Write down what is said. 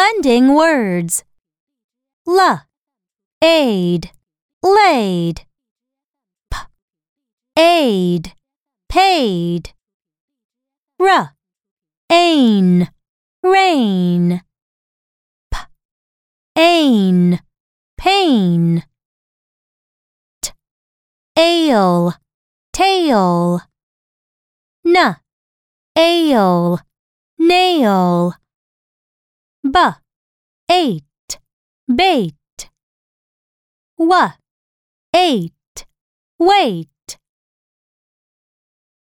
blending words. Aid, laid. Aid, paid. Ain, rain. Ain, pain. Ale, tail. Ale, nail. Ate, bait. Ate, wait.